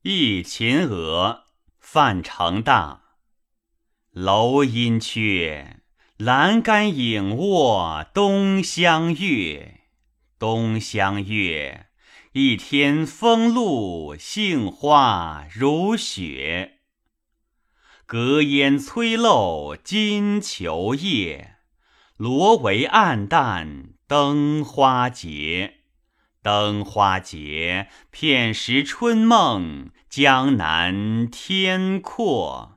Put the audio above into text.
忆秦娥，范成大。楼阴阙，栏杆影卧东厢月。东厢月，一天风露，杏花如雪。隔烟催漏金裘叶，罗帷暗淡灯花节。灯花节，片时春梦，江南天阔。